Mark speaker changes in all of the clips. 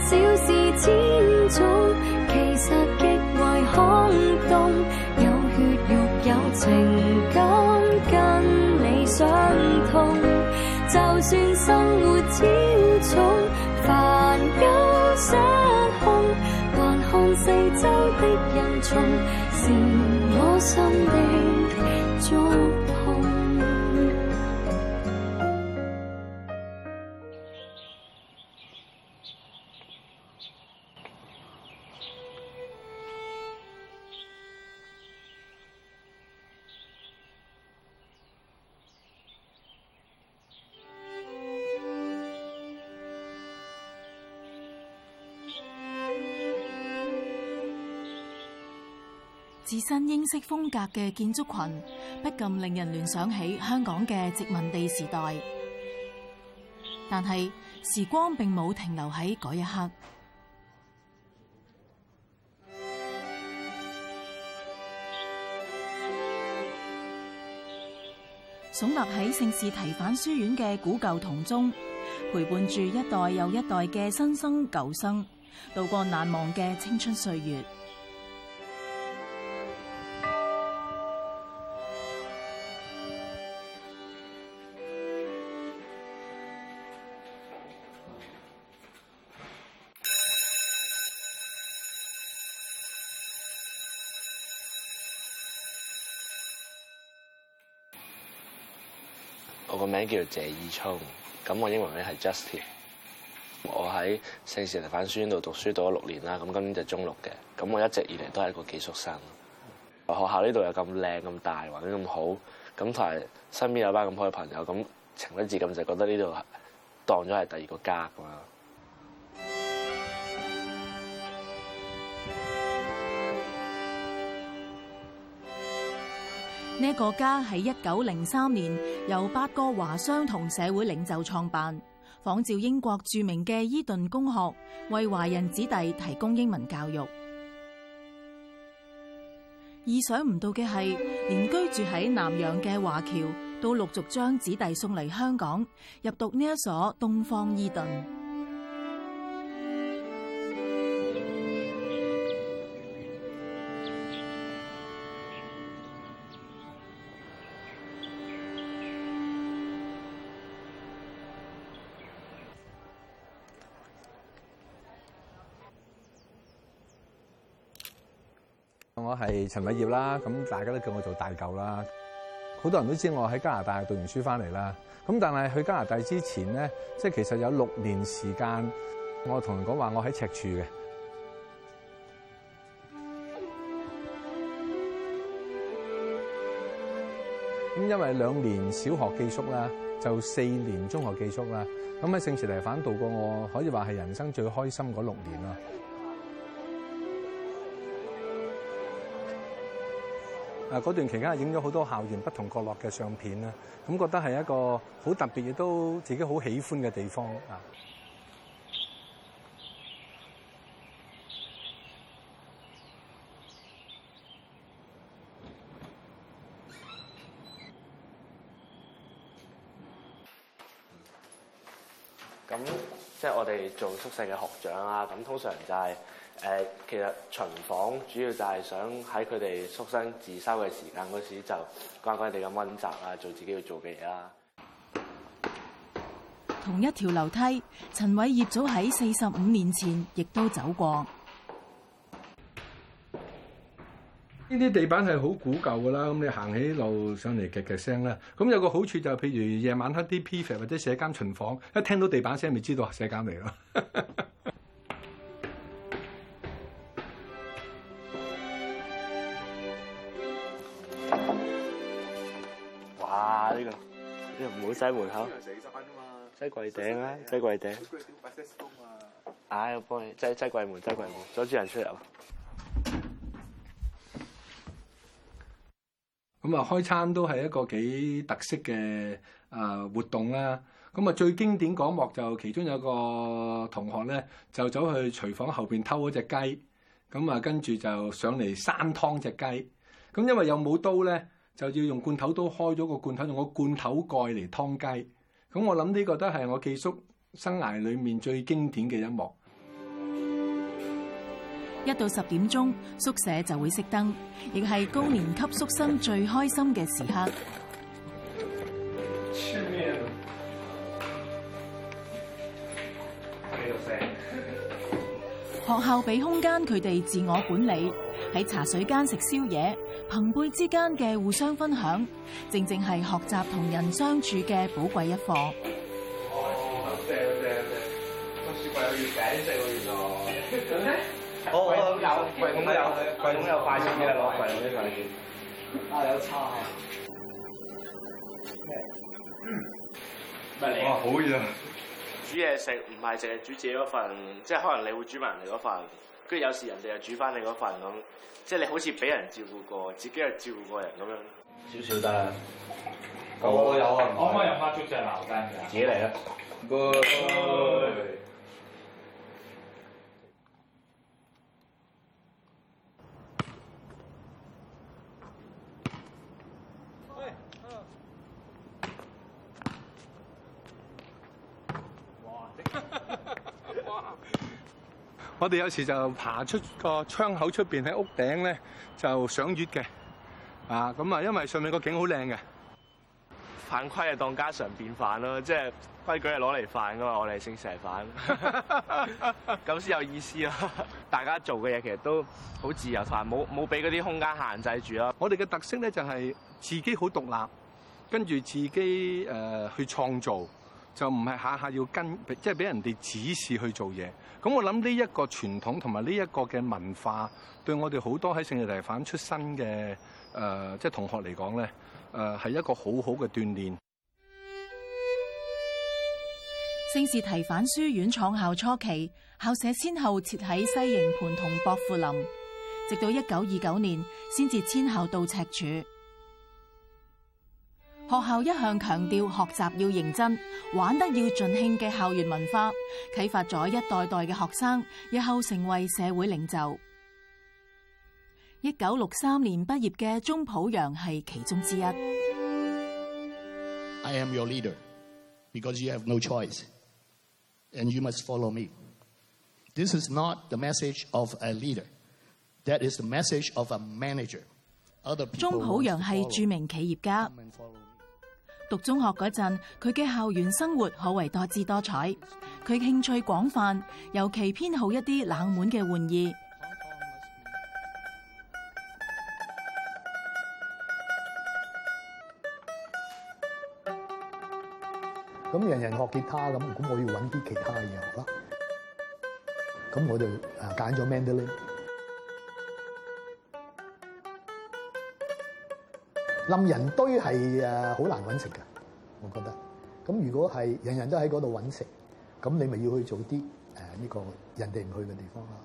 Speaker 1: 小事千種，其實極為空洞。有血肉有情感，跟你相通。就算生活超重，煩憂失控，環看四周的人叢，是我心的觸碰。
Speaker 2: 自身英式風格嘅建築群，不禁令人聯想起香港嘅殖民地時代。但係時光並冇停留喺嗰一刻。聳立喺聖士提反書院嘅古舊銅鐘，陪伴住一代又一代嘅新生舊生，度過難忘嘅青春歲月。
Speaker 3: 我個名叫做謝以聰，咁我英文名係 Justin。我喺聖士提反書院度讀書讀咗6年啦，咁今年就中6嘅。咁我一直以嚟都係一個寄宿生。學校呢度又咁靚咁大，環境咁好，咁同埋身邊有班咁好嘅朋友，咁情不自禁就覺得呢度當咗係第二個家咁樣。
Speaker 2: 呢一個家喺1903年由8個華商同社會領袖創辦，仿照英國著名嘅伊頓公學，為華人子弟提供英文教育。意想唔到嘅係，連居住喺南洋嘅華僑都陸續將子弟送嚟香港，入讀呢一所東方伊頓。
Speaker 4: 我係陳偉業啦，咁大家都叫我做大舊啦。好多人都知我喺加拿大讀完書翻嚟啦。咁但係去加拿大之前咧，即係其實有6年時間，我同人講話我喺赤柱嘅。咁因為2年小學寄宿啦，就4年中學寄宿啦。咁喺聖士提反度過我可以話係人生最開心嗰6年啦。嗰段期間係影咗好多校園不同角落嘅相片啦，咁覺得係一個好特別亦都自己好喜歡嘅地方啊！
Speaker 3: 咁即係我哋做宿舍嘅學長啦，咁通常就係其實巡房主要就係想喺佢哋宿生自修嘅時間嗰時就乖乖地咁溫習啊，做自己要做嘅嘢啦。
Speaker 2: 同一條樓梯，陳偉業早喺45年前亦都走過。
Speaker 4: 呢啲地板係好古舊㗎啦，咁你行起路上嚟嘅聲啦。咁有個好處就係，譬如夜晚黑啲 P.F. 或者社監巡房，一聽到地板聲，咪知道社監嚟咯。
Speaker 3: 哇！呢個唔好閂門口，擠櫃頂啊！擠櫃頂。我幫你擠櫃門，阻住人出入。
Speaker 4: 咁啊，開餐都係一個幾特色嘅活動啦。咁啊，最經典嗰幕就其中有個同學咧，就走去廚房後邊偷嗰隻雞，咁啊跟住就上嚟生湯隻雞。咁因為又冇刀咧，就要用罐頭刀開咗個罐頭，用個罐頭蓋嚟湯雞。咁我諗呢個都係我寄宿生涯裡面最經典嘅一幕。
Speaker 2: 1到10點鐘，宿舍就會熄燈，亦係高年級宿生最開心嘅時刻。學校俾空間佢哋自我管理，喺茶水間食宵夜，朋輩之間嘅互相分享，正正係學習同人相處嘅寶貴一課。
Speaker 5: 正，個雪櫃有月餅食喎，原來。櫃桶有快錢嘅，攞櫃桶啲快錢。有叉。咩？哇，好熱啊！
Speaker 3: 煮嘢食唔係淨係煮自己嗰份，即係可能你會煮埋人哋嗰份，跟住有時人哋又煮翻你嗰份咁，即係你好似俾人照顧過，自己又照顧過人咁樣。少少得啦。
Speaker 5: 我有啊。
Speaker 6: 可唔可以飲翻粥仔茅根㗎？
Speaker 3: 自己嚟啦。
Speaker 4: 我哋有時就爬出個窗口出邊喺屋頂咧，就賞月嘅。咁啊，因為上面個景好靚嘅。
Speaker 3: 犯規係當家常便飯咯，即係規矩係攞嚟犯噶嘛，我哋姓蛇犯，咁先有意思咯。大家做嘅嘢其實都好自由，同埋冇俾嗰啲空間限制住咯。
Speaker 4: 我哋嘅特色咧就係自己好獨立，跟住自己去創造，就唔係下下要跟，即係俾人哋指示去做嘢。咁我諗呢一個傳統同埋呢一個嘅文化，對我哋好多喺聖士提反出身嘅即係同學嚟講咧，係一個好好嘅鍛鍊。
Speaker 2: 聖士提反書院創校初期，校舍先後設喺西營盤同薄扶林，直到1929年先至遷校到赤柱。學校一向強調學習要認真，玩得要盡興嘅校園文化，啟發咗一代代嘅學生，日後成為社會領袖。1963年畢業嘅鍾普陽係其中之一。
Speaker 7: I am your leader because you have no choice, and you must follow me. This is not the message of a leader. That is the message of a manager.
Speaker 2: 鍾普陽係著名企業家。讀中學嗰陣，佢嘅校園生活可謂多姿多彩。佢興趣廣泛，尤其偏好一啲冷門嘅玩意。
Speaker 8: 咁人人學吉他咁我要揾啲其他嘢學啦。咁我就揀咗 mandolin。冧人堆係好難揾食㗎，我覺得。咁如果係人人都喺嗰度揾食，咁你咪要去做啲呢個人哋唔去嘅地方啦。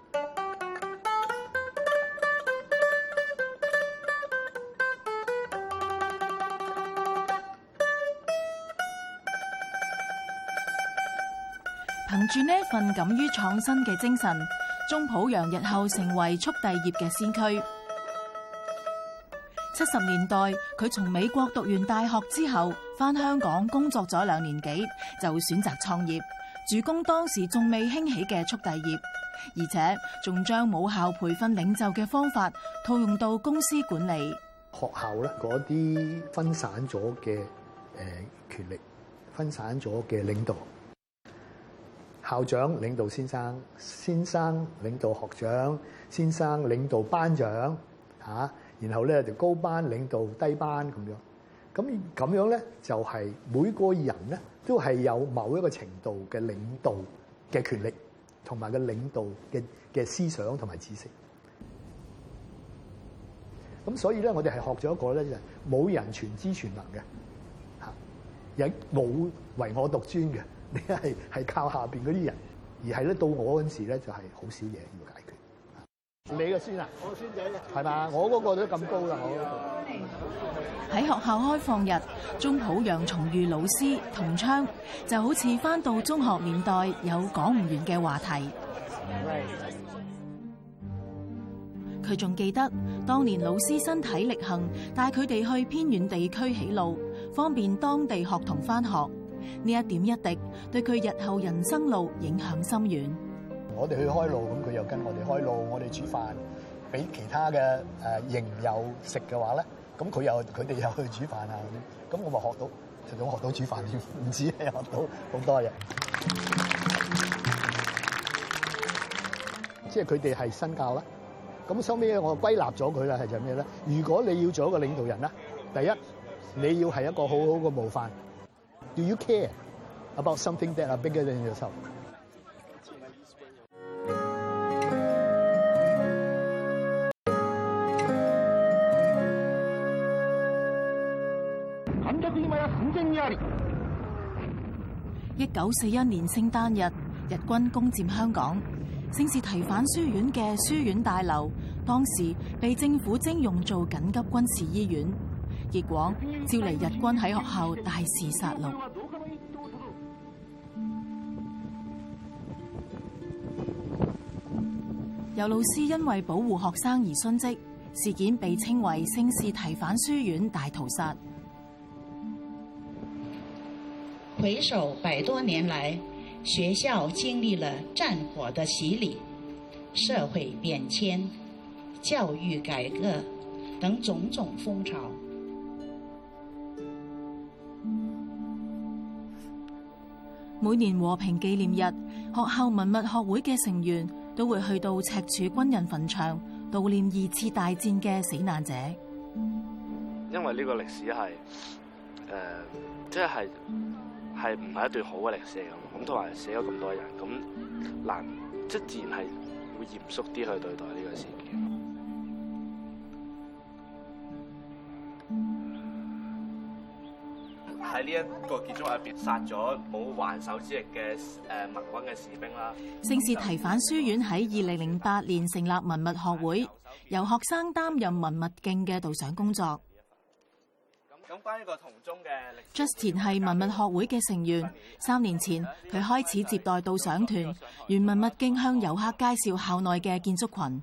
Speaker 2: 憑住呢份敢於創新嘅精神，鍾普陽日後成為速遞業嘅先驅。70年代，佢從美國讀完大學之後，返香港工作咗2年幾，就選擇創業，主攻當時仲未興起嘅速遞業，而且仲將母校培訓領袖嘅方法套用到公司管理。
Speaker 8: 學校咧嗰啲分散咗嘅權力，分散咗嘅領導，校長領導先生，先生領導學長，先生領導班長嚇。然後咧就高班領導低班咁樣，咁樣咧就係每個人咧都係有某一個程度嘅領導嘅權力，同埋嘅領導嘅思想同埋知識。咁所以咧，我哋係學咗一個咧就係冇人全知全能嘅嚇，亦冇唯我獨尊嘅，你係靠下邊嗰啲人，而係咧到我嗰陣時咧就係好少嘢要解決。你嘅孫啊，我孫仔係嘛？我嗰個都咁高啦，我
Speaker 2: 喺學校開放日，鍾普陽重遇老師同窗，就好似返到中學年代有講唔完嘅話題。佢仲記得當年老師身體力行，帶佢哋去偏遠地區起路，方便當地學童返學。呢一點一滴，對佢日後人生路影響深遠。
Speaker 8: 我哋去開路，咁佢又跟我哋開路，我哋煮飯俾其他嘅營友食嘅話咧，咁佢哋又去煮飯啊咁我咪學到，除咗學到煮飯，唔止係學到好多嘢。即係佢哋係新教啦。咁收尾我歸納咗佢啦，係就咩咧？如果你要做一個領導人啦，第一你要係一個好好嘅模範。Do you care about something that are bigger than yourself？
Speaker 2: 1941年聖誕日，日軍攻佔香港，聖士提反書院嘅書院大樓當時被政府徵用做緊急軍事醫院，結果招嚟日軍喺學校大肆殺戮。有老師因為保護學生而殉職，事件被稱為聖士提反書院大屠殺。
Speaker 9: 回首100多年來，學校經歷了戰火的洗禮、社會變遷、教育改革等種種風潮。
Speaker 2: 每年和平紀念日，學校文物學會嘅成員都會去到赤柱軍人墳場悼念2次大戰嘅死難者。
Speaker 3: 因為呢個歷史係即係唔係一段好嘅歷史嚟咁，同埋死咗咁多人，咁難即自然係會嚴肅啲去對待呢個事件。喺呢一個建築入邊殺咗冇還手之力嘅盟軍嘅士兵啦。
Speaker 2: 聖士提反書院喺2008年成立文物學會，由學生擔任文物徑嘅導賞工作。
Speaker 3: 咁關於個銅鐘嘅
Speaker 2: Justin 係文物學會嘅成員。3年前，佢開始接待導賞團，沿文物徑向遊客介紹校內嘅建築群。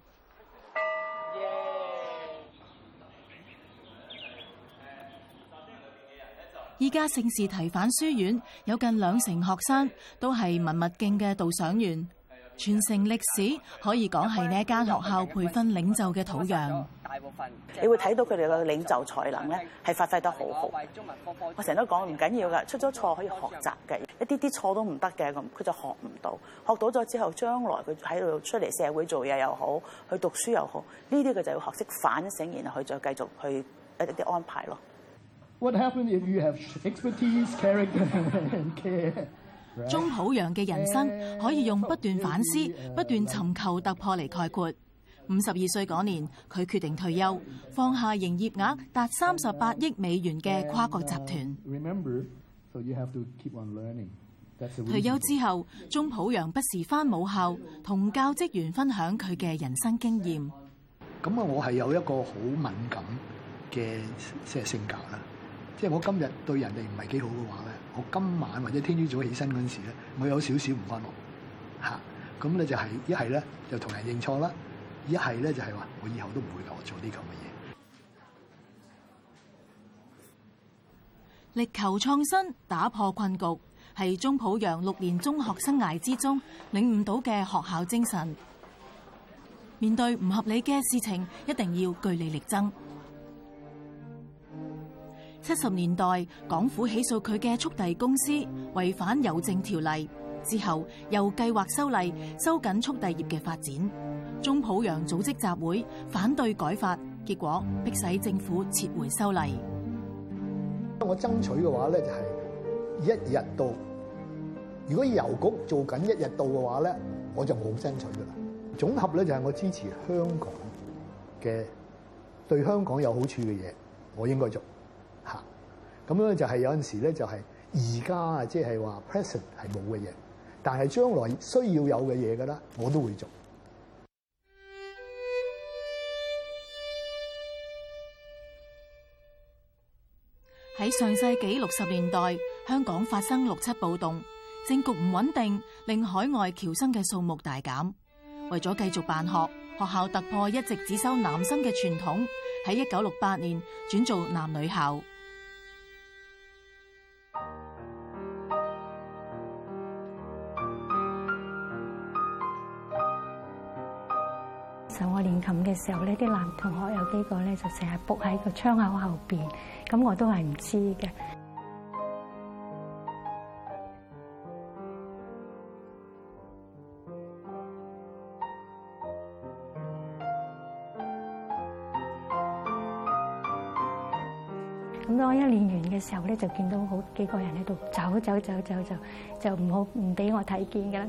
Speaker 2: 依家聖士提反書院有近20%學生都係文物徑嘅導賞員，傳承歷史可以講係呢一間學校培訓領袖嘅土壤。
Speaker 10: 大部分你會睇到佢哋嘅領袖才能咧，係發揮得好好。我成日都講唔緊要㗎，出咗錯可以學習嘅，一啲錯都唔得嘅，咁佢就學唔到。學到咗之後，將來佢喺度出嚟社會做嘢又好，去讀書又好，呢啲佢就要學識反省，然後去再繼續去一啲安排咯。
Speaker 7: What happens if you have expertise, character, and care?
Speaker 2: 鍾普陽嘅人生可以用不斷反思、不斷尋求突破嚟概括。52歲嗰年，佢決定退休，放下營業額達38億美元嘅跨國集團。退休之後，鍾普陽不時返母校，同教職員分享佢嘅人生經驗。
Speaker 8: 咁我係有一個好敏感嘅性格啦。即係我今日對人哋唔係幾好嘅話咧，我今晚或者聽朝早起身嗰陣時咧，我有少少唔安樂嚇。咁咧就係一係咧就同人認錯啦，一係咧就係話我以後都唔會做啲咁嘅嘢。
Speaker 2: 力求創新，打破困局，係鍾普陽6年中學生涯之中領悟到嘅學校精神。面對唔合理嘅事情，一定要據理力爭。70年代，港府起訴佢嘅速遞公司違反郵政條例，之後又計劃修例，收緊速遞業嘅發展。鍾普陽組織集會反對改法，結果迫使政府撤回修例。
Speaker 8: 我爭取嘅話咧，就係1日到。如果郵局做緊1日到嘅話咧，我就冇爭取噶啦。總合咧就係我支持香港嘅對香港有好處嘅嘢，我應該做。嚇，咁樣就係有陣時咧，就係而家啊，即係話 present 係冇嘅嘢，但係將來需要有嘅嘢㗎啦，我都會做。
Speaker 2: 喺上世紀60年代，香港發生6·7暴動，政局唔穩定，令海外僑生嘅數目大減。為咗繼續辦學，學校突破一直只收男生嘅傳統，喺1968年轉做男女校。
Speaker 11: 時候我練琴嘅時候咧，啲男同學有幾個咧就成日仆喺個窗口後邊，咁我都係唔知嘅。咁當我一練完嘅時候咧，就見到好幾個人喺度走，就唔俾我睇見㗎啦。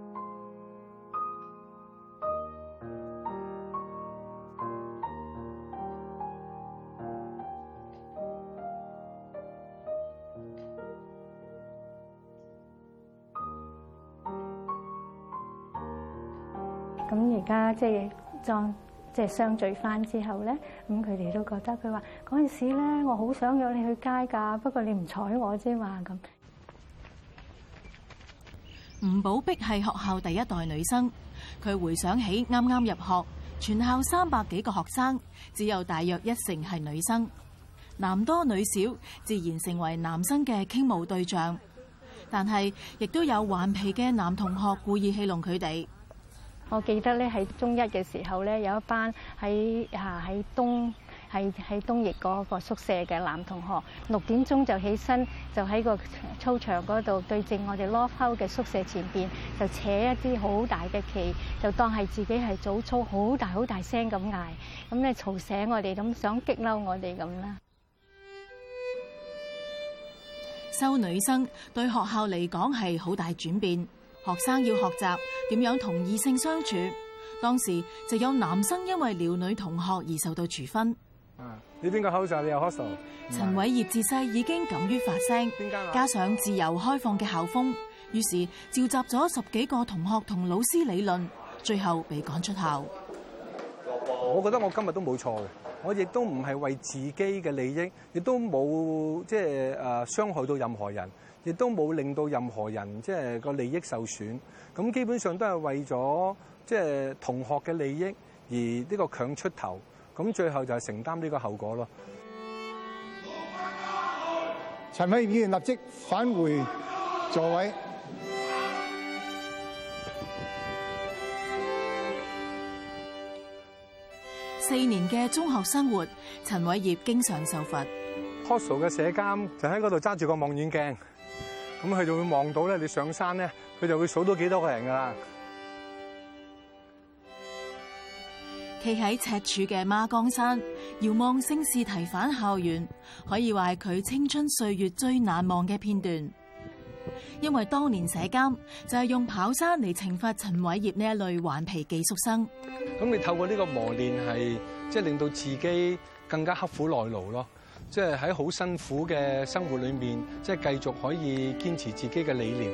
Speaker 11: 咁而家即係相聚翻之後咧，咁佢哋都覺得佢話嗰陣時咧，我好想約你去街㗎，不過你唔睬我啫嘛咁。
Speaker 2: 吳寶碧係學校第一代女生，佢回想起啱啱入學，全校300幾個學生，只有大約1成係女生，男多女少，自然成為男生嘅傾慕對象。但係亦都有頑皮嘅男同學故意戲弄佢哋。
Speaker 11: 我記得咧喺中一嘅時候咧，有一班喺東翼嗰個宿舍嘅男同學，6點鐘就起身，就喺個操場嗰度對正我哋 loft house 嘅宿舍前邊，就扯一支好大嘅旗，就當係自己係早操，好大聲咁嗌，咁咧嘈醒我哋，咁想激嬲我哋咁啦。
Speaker 2: 收女生對學校嚟講係好大轉變。學生要學習點樣同異性相處，當時就有男生因為撩女同學而受到處分。
Speaker 4: 你邊個 house 你有 hostel？
Speaker 2: 陳偉業自細已經敢於發聲，加上自由開放嘅校風，於是召集咗10幾個同學同老師理論，最後被趕出校。
Speaker 4: 我覺得我今日都冇錯嘅，我亦都唔係為自己嘅利益，亦都冇傷害到任何人。亦都冇令到任何人個利益受損，咁基本上都係為咗同學嘅利益而呢個強出頭，咁最後就係承擔呢個後果咯。
Speaker 12: 陳偉業議員立即返回座位。
Speaker 2: 4年嘅中學生活，陳偉業經常受罰。
Speaker 4: Hostel 嘅舍監就喺嗰度揸住個望遠鏡。咁佢就會望到咧，你上山咧，佢就會數到幾多個人噶啦。
Speaker 2: 企喺赤柱嘅孖崗山，遙望聖士提反校園，可以話係佢青春歲月最難忘嘅片段。因為當年舍監就係用跑山嚟懲罰陳偉業呢一類頑皮寄宿生。
Speaker 4: 咁你透過呢個磨練係令到自己更加刻苦耐勞咯。喺好辛苦嘅生活裏面，繼續可以堅持自己嘅理念。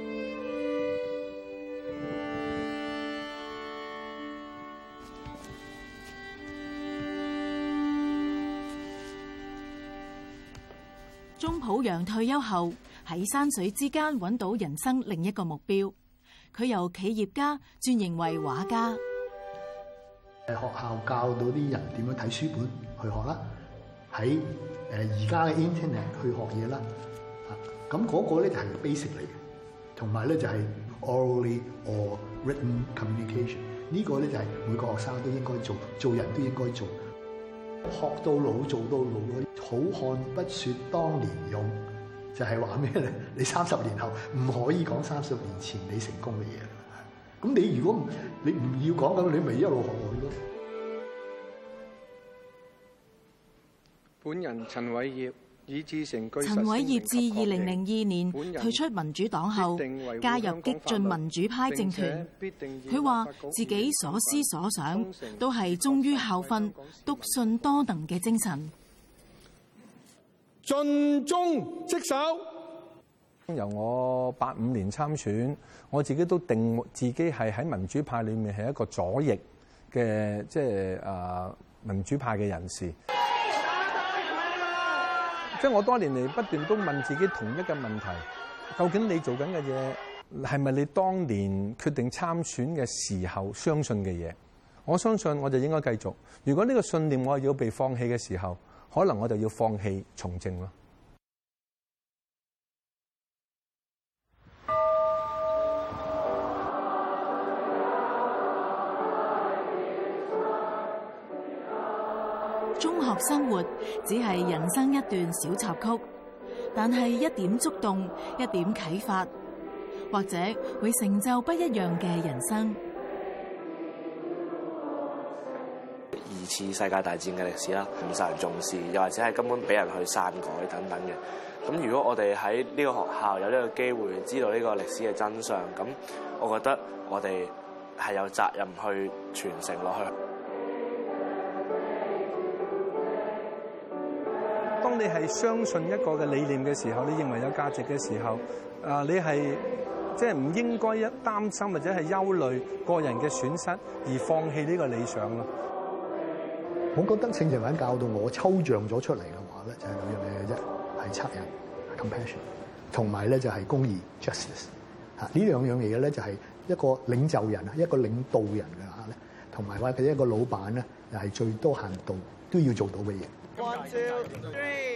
Speaker 2: 鍾普陽退休後喺山水之間揾到人生另一個目標，佢由企業家轉型為畫家。
Speaker 8: 學校教到啲人點樣睇書本去學啦。喺而家嘅 internet 去學嘢啦，咁嗰個咧就係 basic 嚟嘅，同埋咧就係 orally or written communication。呢個咧就係每個學生都應該做，做人都應該做。學到老做到老嗰啲，好漢不說當年勇，就係話咩咧？你30年後唔可以講30年前你成功嘅嘢啦。咁你如果你唔要講咁，你咪一路學落去咯。
Speaker 5: 本人陳偉業以至成據。
Speaker 2: 陳偉業自2002年退出民主黨後，加入激進民主派政團。佢話自己所思所想都係忠於校訓、篤信多能嘅精神。
Speaker 4: 盡忠職守。由我85年參選，我自己都定自己係喺民主派裏面係一個左翼嘅，民主派嘅人士。我多年嚟不斷都問自己同一個問題：究竟你做緊嘅嘢係咪你當年決定參選嘅時候相信嘅嘢？我相信我就應該繼續。如果呢個信念我係要被放棄嘅時候，可能我就要放棄從政咯。
Speaker 2: 中學生活只係人生一段小插曲，但係一點觸動，一點啟發，或者會成就不一樣嘅人生。
Speaker 3: 二次世界大戰嘅歷史啦，唔受人重視，又或者係根本俾人去篡改等等嘅。咁如果我哋喺呢個學校有呢個機會知道呢個歷史嘅真相，咁我覺得我哋係有責任去傳承落去。
Speaker 13: 當你係相信一個嘅理念嘅時候，你認為有價值嘅時候，你係即係唔應該一擔心或者係憂慮個人嘅損失而放棄呢個理想咯。
Speaker 8: 我覺得聖情品教導我抽象咗出嚟嘅話咧，就係兩樣嘢嘅啫，係惻隱 compassion， 同埋咧就係公義 justice。呢兩樣嘢咧就係一個領袖人、一個領導人嘅話咧，同埋或者一個老闆咧，又係最多限度都要做到嘅嘢。1, 2, 3